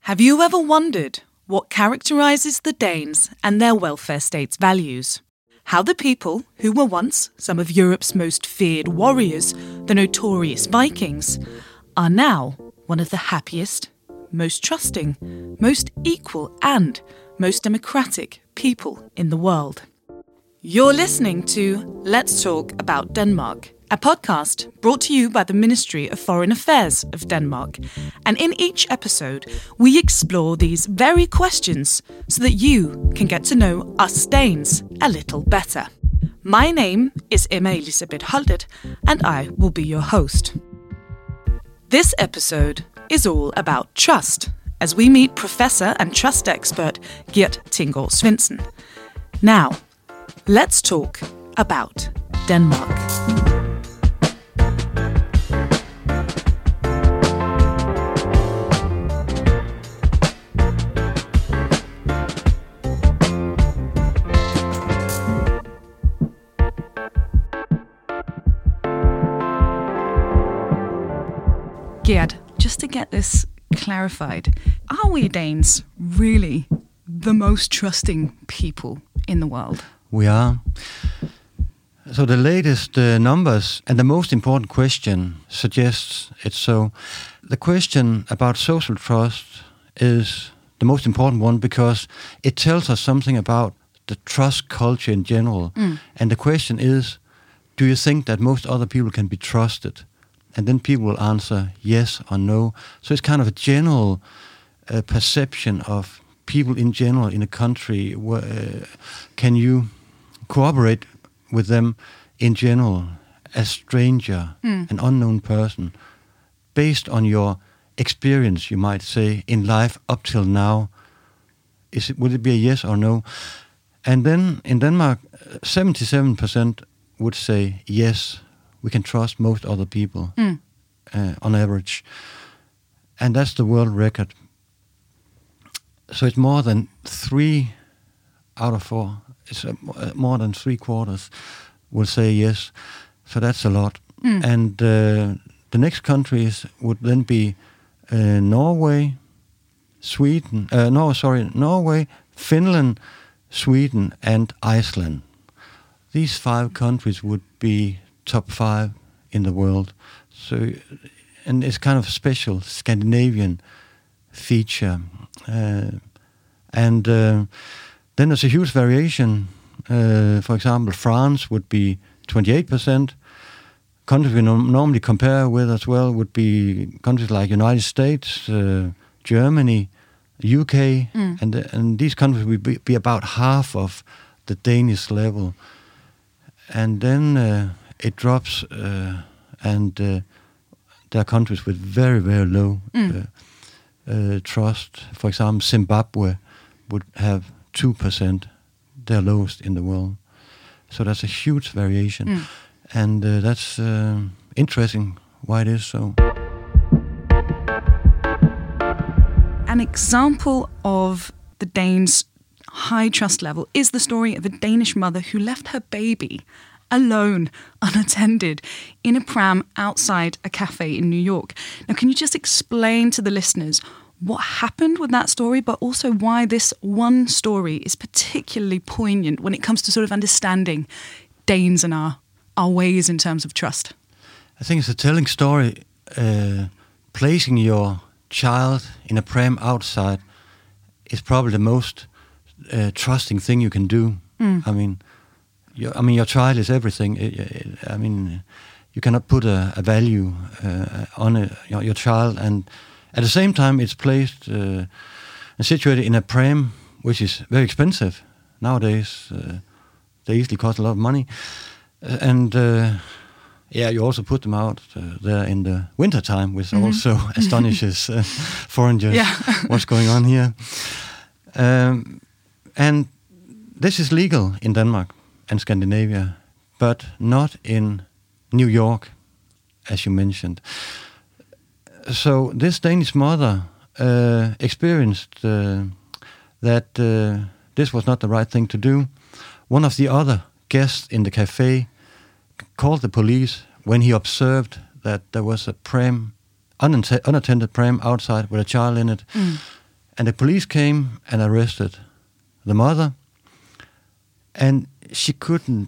Have you ever wondered what characterises the Danes and their welfare state's values? How the people, who were once some of Europe's most feared warriors, the notorious Vikings, are now one of the happiest, most trusting, most equal and most democratic people in the world. You're listening to Let's Talk About Denmark, a podcast brought to you by the Ministry of Foreign Affairs of Denmark. And in each episode, we explore these very questions so that you can get to know us Danes a little better. My name is Emma Elisabeth Holtet, and I will be your host. This episode is all about trust, as we meet professor and trust expert Gert Tinggaard Svendsen. Now, let's talk about Denmark. Gert, just to get this clarified, are we Danes really the most trusting people in the world? We are. So the latest numbers and the most important question suggests it's so. The question about social trust is the most important one because it tells us something about the trust culture in general. And the question is, do you think that most other people can be trusted? And then people will answer yes or no. So it's kind of a general perception of people in general in a country. Can you cooperate with them in general, a stranger, an unknown person, based on your experience, you might say, in life up till now? Would it be a yes or no? And then in Denmark, 77% would say yes. We can trust most other people on average. And that's the world record. So it's more than 3 out of 4. It's more than 3/4 will say yes. So that's a lot. And the next countries would then be Norway, Norway, Finland, Sweden, and Iceland. These 5 countries would be top 5 in the world. So, and it's kind of a special Scandinavian feature. And then there's a huge variation. For example, France would be 28%. Countries we normally compare with as well would be countries like United States, Germany, UK, and these countries would be about half of the Danish level. And then it drops, and there are countries with very, very low trust. For example, Zimbabwe would have 2%, their lowest in the world. So that's a huge variation. And that's interesting why it is so. An example of the Danes' high trust level is the story of a Danish mother who left her baby alone, unattended, in a pram outside a cafe in New York. Now, can you just explain to the listeners what happened with that story, but also why this one story is particularly poignant when it comes to sort of understanding Danes and our ways in terms of trust? I think it's a telling story. Placing your child in a pram outside is probably the most trusting thing you can do. Your child is everything. You cannot put a value on your child, and at the same time, it's placed and situated in a pram, which is very expensive nowadays. They easily cost a lot of money, and you also put them out there in the winter time, which also astonishes foreigners. What's going on here? And this is legal in Denmark and Scandinavia, but not in New York, as you mentioned. So this Danish mother experienced that this was not the right thing to do. One of the other guests in the cafe called the police when he observed that there was a pram, unattended pram outside with a child in it. And the police came and arrested the mother, and she couldn't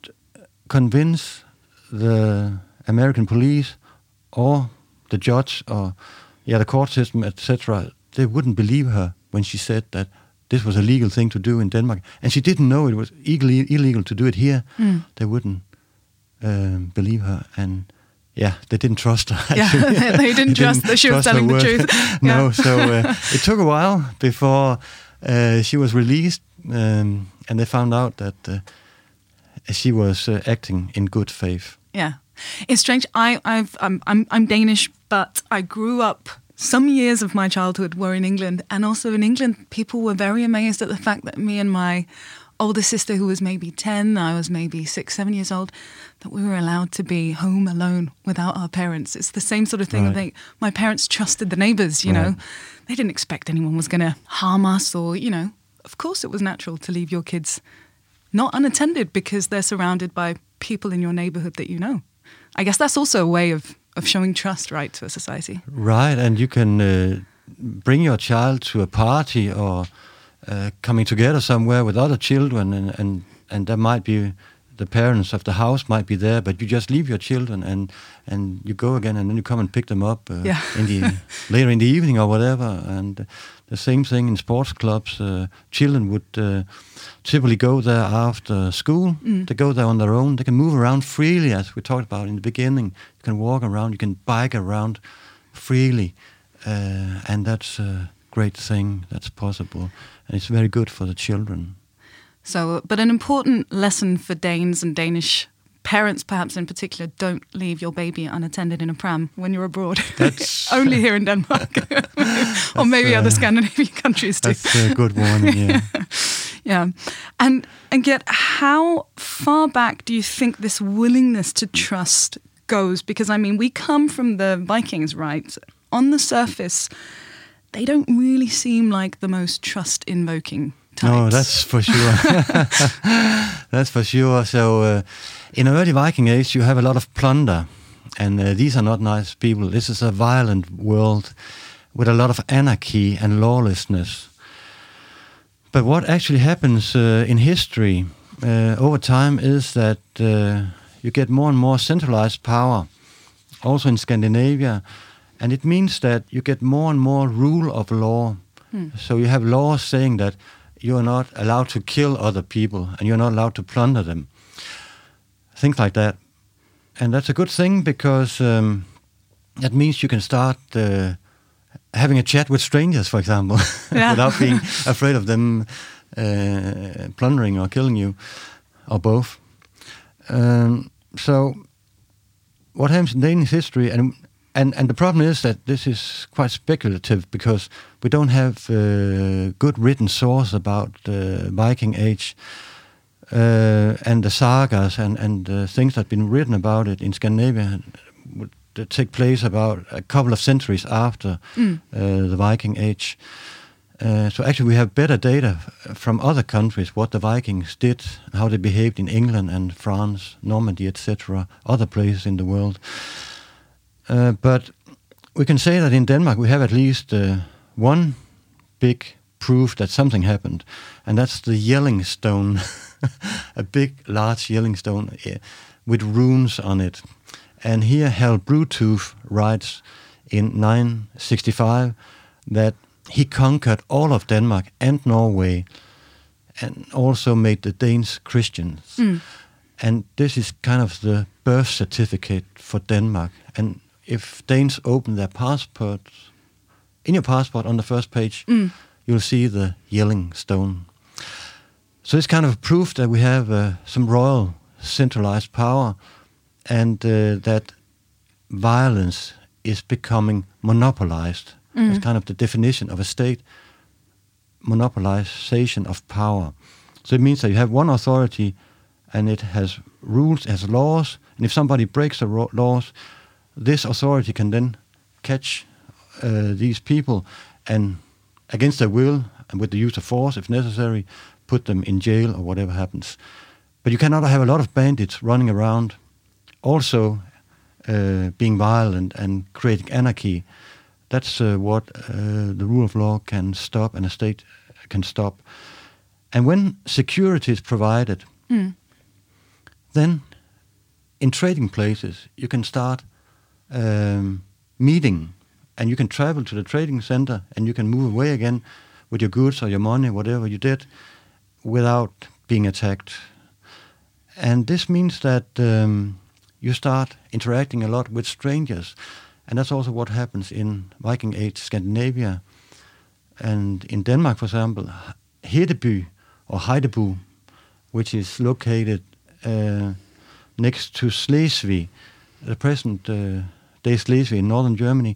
convince the American police or the judge or the court system, etc. They wouldn't believe her when she said that this was a legal thing to do in Denmark, and she didn't know it was illegal to do it here. They wouldn't believe her, and they didn't trust her. Yeah, they didn't trust that she was telling the truth. No, so it took a while before she was released, and they found out that she was acting in good faith. Yeah, it's strange. I'm Danish, but I grew up. Some years of my childhood were in England, and also in England, people were very amazed at the fact that me and my older sister, who was maybe 10, I was maybe 6, 7 years old, that we were allowed to be home alone without our parents. It's the same sort of thing. Right. My parents trusted the neighbours, you know. They didn't expect anyone was going to harm us or, of course it was natural to leave your kids not unattended because they're surrounded by people in your neighbourhood that you know. I guess that's also a way of showing trust, right, to a society. Right, and you can bring your child to a party or coming together somewhere with other children, and there might be the parents of the house might be there, but you just leave your children and you go again, and then you come and pick them up later in the evening or whatever. And the same thing in sports clubs. Children would typically go there after school. They go there on their own. They can move around freely, as we talked about in the beginning. You can walk around. You can bike around freely, and that's a great thing that's possible, and it's very good for the children. So, but an important lesson for Danes and Danish parents, perhaps in particular, don't leave your baby unattended in a pram when you're abroad. That's only here in Denmark, or maybe other Scandinavian countries too. That's a good one. Yeah. Yeah, and yet, how far back do you think this willingness to trust goes? Because I mean, we come from the Vikings, right? On the surface, they don't really seem like the most trust-invoking types. No, that's for sure. That's for sure. So, in early Viking age, you have a lot of plunder, and these are not nice people. This is a violent world with a lot of anarchy and lawlessness. But what actually happens in history over time is that you get more and more centralized power, also in Scandinavia, and it means that you get more and more rule of law. So you have laws saying that you are not allowed to kill other people and you're not allowed to plunder them. Things like that. And that's a good thing because that means you can start having a chat with strangers, for example, without being afraid of them plundering or killing you, or both. So what happens in Danish history, and the problem is that this is quite speculative because we don't have good written source about the Viking Age and the sagas and things that have been written about it in Scandinavia would take place about a couple of centuries after the Viking Age. So actually we have better data from other countries, what the Vikings did, how they behaved in England and France, Normandy, etc., other places in the world. But we can say that in Denmark we have at least one big proof that something happened, and that's the Jelling stone, a big, large Jelling stone with runes on it. And here Harald Bluetooth writes in 965 that he conquered all of Denmark and Norway and also made the Danes Christians. And this is kind of the birth certificate for Denmark. And if Danes open their passports, in your passport on the first page, you'll see the Jelling stone. So it's kind of proof that we have some royal centralized power and that violence is becoming monopolized. That's kind of the definition of a state, monopolization of power. So it means that you have one authority and it has rules, it has laws, and if somebody breaks the laws, this authority can then catch these people and against their will and with the use of force, if necessary, put them in jail or whatever happens. But you cannot have a lot of bandits running around also being violent and creating anarchy. That's what the rule of law can stop and a state can stop. And when security is provided, then in trading places, you can start meeting, and you can travel to the trading center, and you can move away again with your goods or your money, whatever you did, without being attacked. And this means that you start interacting a lot with strangers. And that's also what happens in Viking Age Scandinavia. And in Denmark, for example, Hedeby or Heideby, which is located next to Slesvig, the present day Slesvig in northern Germany,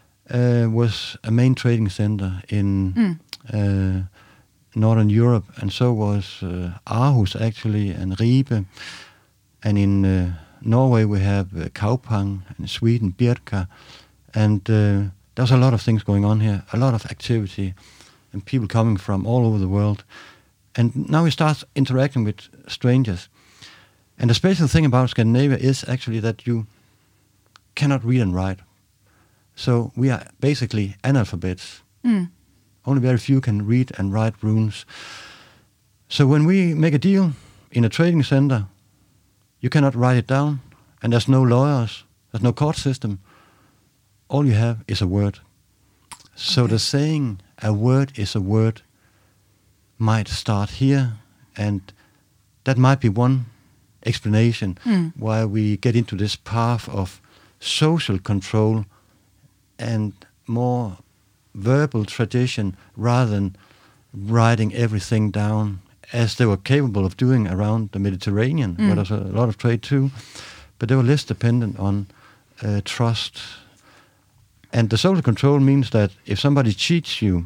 was a main trading center in northern Europe, and so was Aarhus actually, and Ribe. And in Norway we have Kaupang, and in Sweden Birka, and there's a lot of things going on here, a lot of activity, and people coming from all over the world. And now we start interacting with strangers. And the special thing about Scandinavia is actually that you cannot read and write. So we are basically analphabets. Only very few can read and write runes. So when we make a deal in a trading center, you cannot write it down, and there's no lawyers, there's no court system. All you have is a word. So the saying, a word is a word, might start here, and that might be one explanation why we get into this path of social control and more verbal tradition rather than writing everything down, as they were capable of doing around the Mediterranean, where there's a lot of trade too, but they were less dependent on trust. And the social control means that if somebody cheats you,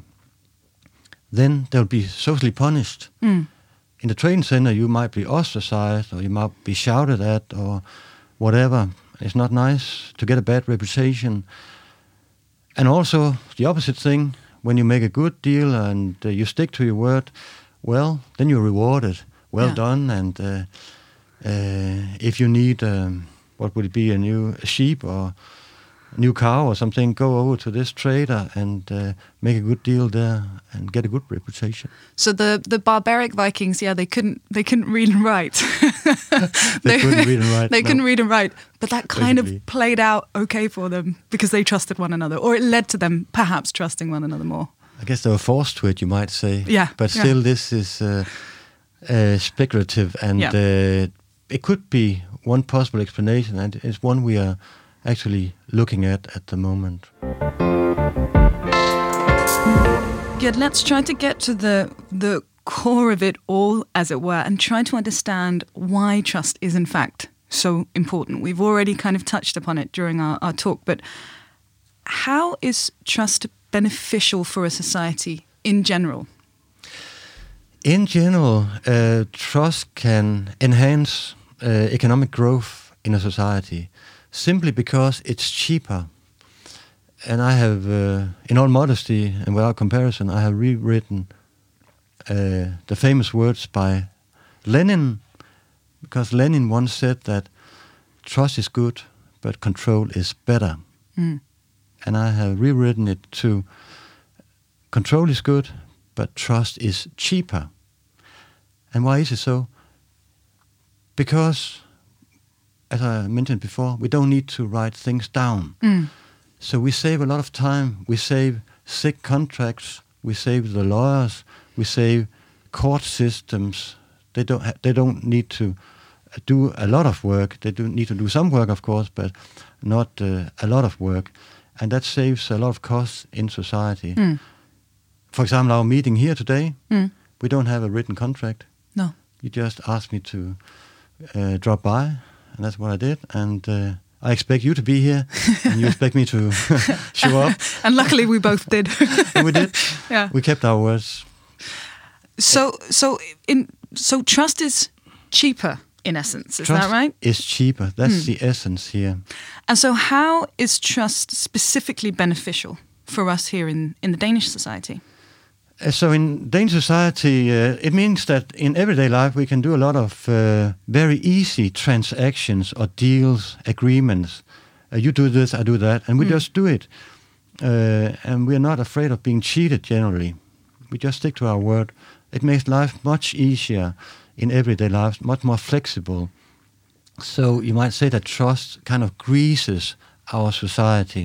then they'll be socially punished. In the training center, you might be ostracized, or you might be shouted at, or whatever. It's not nice to get a bad reputation. And also, the opposite thing, when you make a good deal and you stick to your word, well, then you're rewarded. Well done. And if you need, what would it be, a sheep or a new cow or something, go over to this trader and make a good deal there and get a good reputation. So the barbaric Vikings, they couldn't read and write. They couldn't read and write. They couldn't read and write, but that kind of played out okay for them because they trusted one another, or it led to them perhaps trusting one another more. I guess they were forced to it, you might say. Yeah. But still, this is speculative, and it could be one possible explanation, and it's one we are actually looking at the moment. Good. Let's try to get to the core of it all, as it were, and try to understand why trust is in fact so important. We've already kind of touched upon it during our talk, but how is trust beneficial for a society in general? In general, trust can enhance economic growth in a society simply because it's cheaper. And I have, in all modesty and without comparison, I have rewritten the famous words by Lenin, because Lenin once said that trust is good, but control is better. And I have rewritten it to control is good, but trust is cheaper. And why is it so? Because, as I mentioned before, we don't need to write things down. So we save a lot of time. We save sick contracts. We save the lawyers. We save court systems. They don't need to do a lot of work. They do need to do some work, of course, but not a lot of work. And that saves a lot of costs in society. For example, our meeting here today, we don't have a written contract. No. You just asked me to drop by, and that's what I did. And I expect you to be here, and you expect me to show up. And luckily we both did. And we did. Yeah. We kept our words. So trust is cheaper, in essence, is Trust that right? is cheaper. That's the essence here. And so how is trust specifically beneficial for us here in the Danish society? So in Danish society, it means that in everyday life we can do a lot of very easy transactions or deals, agreements. You do this, I do that, and we just do it. and we're not afraid of being cheated generally. We just stick to our word. It makes life much easier in everyday life, much more flexible. So you might say that trust kind of greases our society.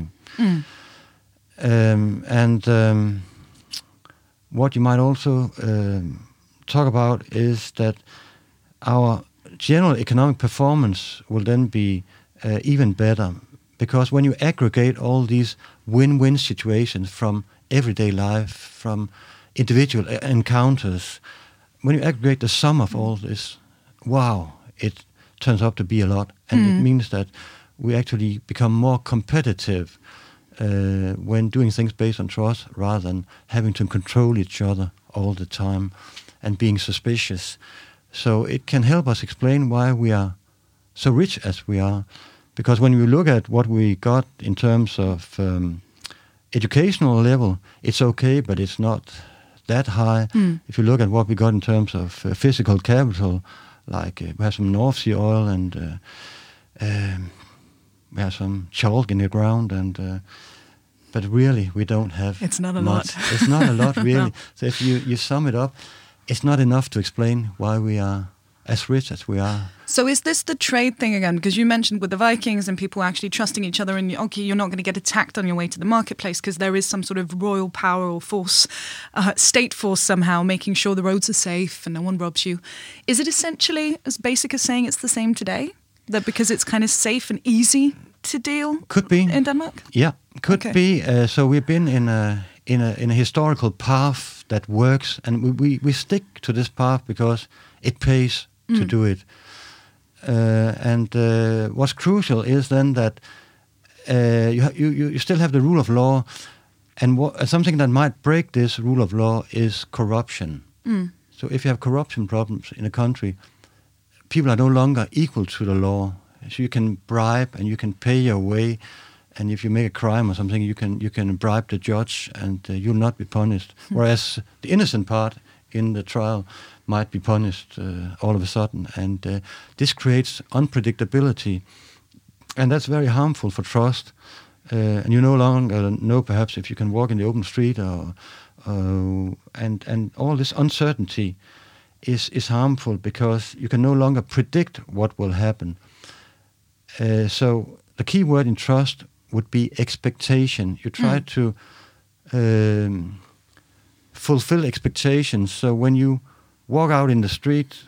What you might also talk about is that our general economic performance will then be even better, because when you aggregate all these win-win situations from everyday life, from individual encounters, when you aggregate the sum of all this, wow, it turns out to be a lot. And it means that we actually become more competitive when doing things based on trust, rather than having to control each other all the time and being suspicious. So it can help us explain why we are so rich as we are. Because when we look at what we got in terms of educational level, it's okay, but it's not that high. If you look at what we got in terms of physical capital, like we have some North Sea oil, and we have some chalk in the ground, and but really we don't have. It's not a much. lot. It's not a lot, really. No. So if you sum it up, it's not enough to explain why we are as rich as we are. So is this the trade thing again? Because you mentioned with the Vikings and people actually trusting each other, and okay, you're not going to get attacked on your way to the marketplace because there is some sort of royal power or force, state force somehow, making sure the roads are safe and no one robs you. Is it essentially as basic as saying it's the same today? That because it's kind of safe and easy to deal Could be in Denmark? Yeah, could Okay. be. So we've been in a historical path that works, and we stick to this path because it pays to do it. And what's crucial is then that you still have the rule of law, and something that might break this rule of law is corruption. So if you have corruption problems in a country, people are no longer equal to the law. So you can bribe and you can pay your way, and if you make a crime or something, you can bribe the judge, and you'll not be punished. Whereas the innocent part in the trial might be punished all of a sudden, and this creates unpredictability, and that's very harmful for trust. And you no longer know perhaps if you can walk in the open street, or and all this uncertainty is harmful because you can no longer predict what will happen. So the key word in trust would be expectation. You try to fulfill expectations. So when you walk out in the street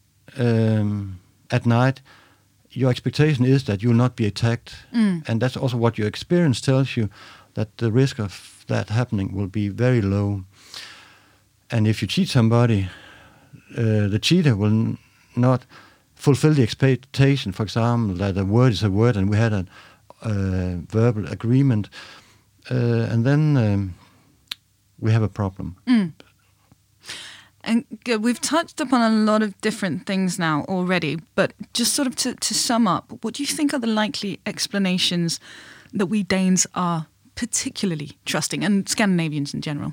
at night, your expectation is that you will not be attacked. And that's also what your experience tells you, that the risk of that happening will be very low. And if you cheat somebody, the cheater will not fulfill the expectation, for example, that a word is a word and we had a verbal agreement, and then we have a problem. And we've touched upon a lot of different things now already, but just sort of to sum up, what do you think are the likely explanations that we Danes are particularly trusting, and Scandinavians in general?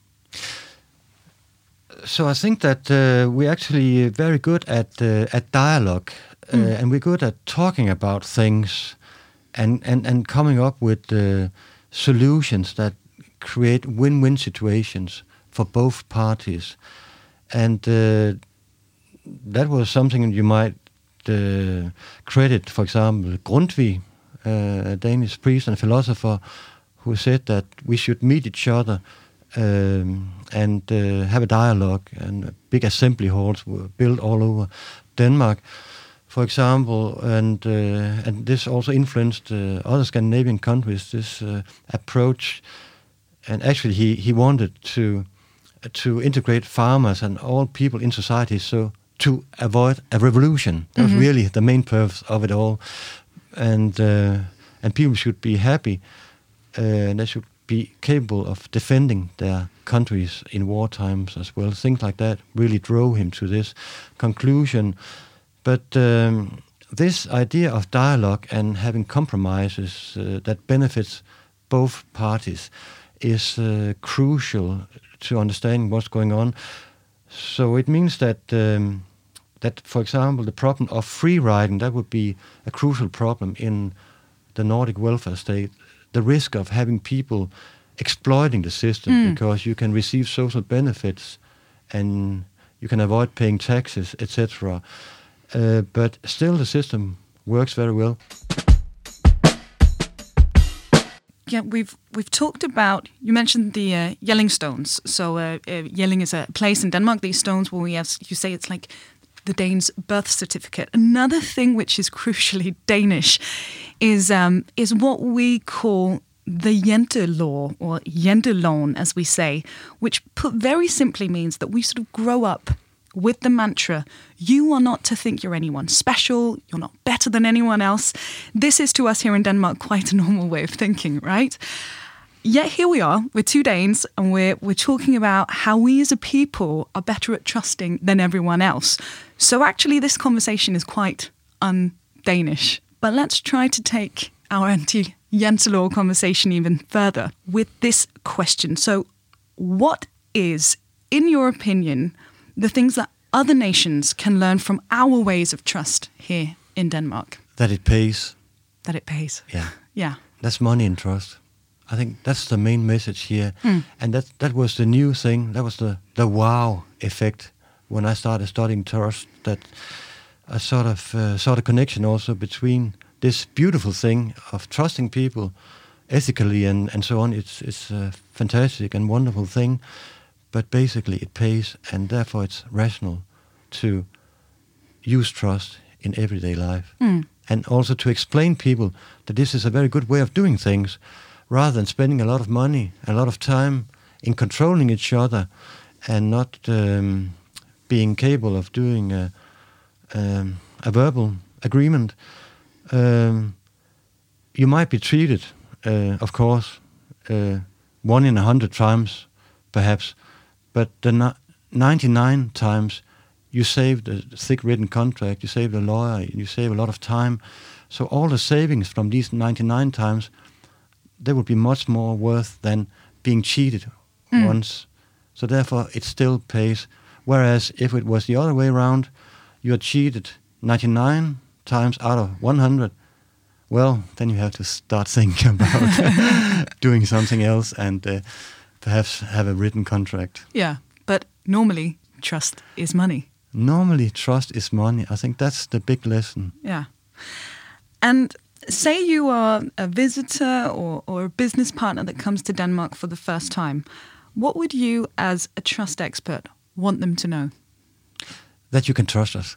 So I think that we're actually very good at dialogue, and we're good at talking about things and coming up with solutions that create win-win situations for both parties. And that was something you might credit, for example, Grundtvig, a Danish priest and philosopher, who said that we should meet each other and have a dialogue, and big assembly halls were built all over Denmark, for example, and this also influenced other Scandinavian countries, this approach. And actually he wanted to integrate farmers and all people in society, so to avoid a revolution. That was really the main purpose of it all. And people should be happy, and they should be capable of defending their countries in war times as well. Things like that really drove him to this conclusion. But this idea of dialogue and having compromises that benefits both parties is crucial to understanding what's going on. So it means that, for example, the problem of free riding, that would be a crucial problem in the Nordic welfare state, the risk of having people exploiting the system because you can receive social benefits and you can avoid paying taxes, etc. But still the system works very well. Yeah, we've talked about, you mentioned the Jelling stones. So Jelling is a place in Denmark. These stones, well, as you say, it's like the Danes' birth certificate. Another thing which is crucially Danish is what we call the Jente-law, or Jenteloven, as we say, which put very simply means that we sort of grow up with the mantra, you are not to think you're anyone special, you're not better than anyone else. This is to us here in Denmark quite a normal way of thinking, right? Yet here we are, we're two Danes, and we're talking about how we as a people are better at trusting than everyone else. So actually this conversation is quite un-Danish. But let's try to take our anti-Jente-law conversation even further with this question. So what is, in your opinion, the things that other nations can learn from our ways of trust here in Denmark? That it pays. That it pays. Yeah. Yeah. That's money in trust. I think that's the main message here. And that was the new thing. That was the wow effect when I started studying trust, that I sort of saw the connection also between this beautiful thing of trusting people ethically and so on. It's a fantastic and wonderful thing, but basically it pays, and therefore it's rational to use trust in everyday life. And also to explain people that this is a very good way of doing things, rather than spending a lot of money, a lot of time in controlling each other and not being capable of doing a verbal agreement. You might be treated, of course, 1 in 100 times, perhaps, but the 99 times you save the thick written contract, you save the lawyer, you save a lot of time. So all the savings from these 99 times, they would be much more worth than being cheated once. So therefore it still pays. Whereas if it was the other way around, you are cheated 99 times out of 100, well, then you have to start thinking about doing something else and perhaps have a written contract. Yeah, but normally trust is money. Normally trust is money. I think that's the big lesson. Yeah. And say you are a visitor or a business partner that comes to Denmark for the first time. What would you, as a trust expert, want them to know? That you can trust us.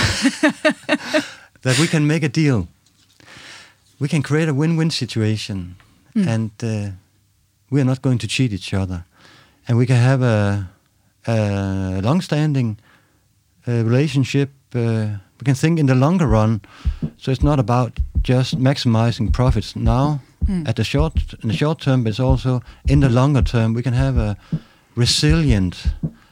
That we can make a deal. We can create a win-win situation. And we are not going to cheat each other. And we can have a long-standing relationship. We can think in the longer run. So it's not about just maximizing profits now in the short term, but it's also in the longer term. We can have a resilient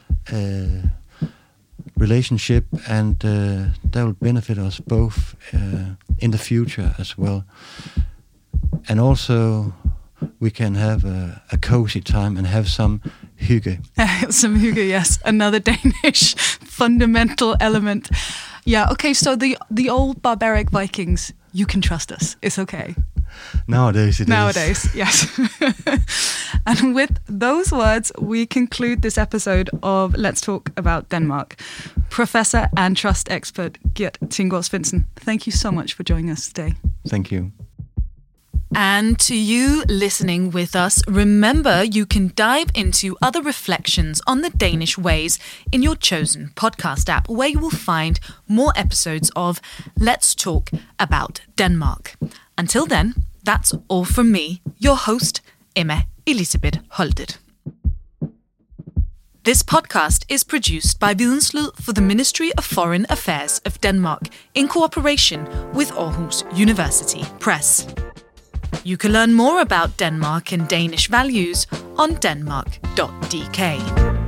relationship, and that will benefit us both in the future as well. And also we can have a cozy time and have some hygge. Some hygge, yes. Another Danish fundamental element. Yeah, okay, so the old barbaric Vikings, you can trust us. It's okay. Nowadays it is. Nowadays, yes. And with those words, we conclude this episode of Let's Talk About Denmark. Professor and trust expert Gert Tinggaard Svendsen, thank you so much for joining us today. Thank you. And to you listening with us, remember you can dive into other reflections on the Danish ways in your chosen podcast app, where you will find more episodes of Let's Talk About Denmark. Until then, that's all from me, your host, Emma Elisabeth Holtet. This podcast is produced by Videnslyd for the Ministry of Foreign Affairs of Denmark in cooperation with Aarhus University Press. You can learn more about Denmark and Danish values on denmark.dk.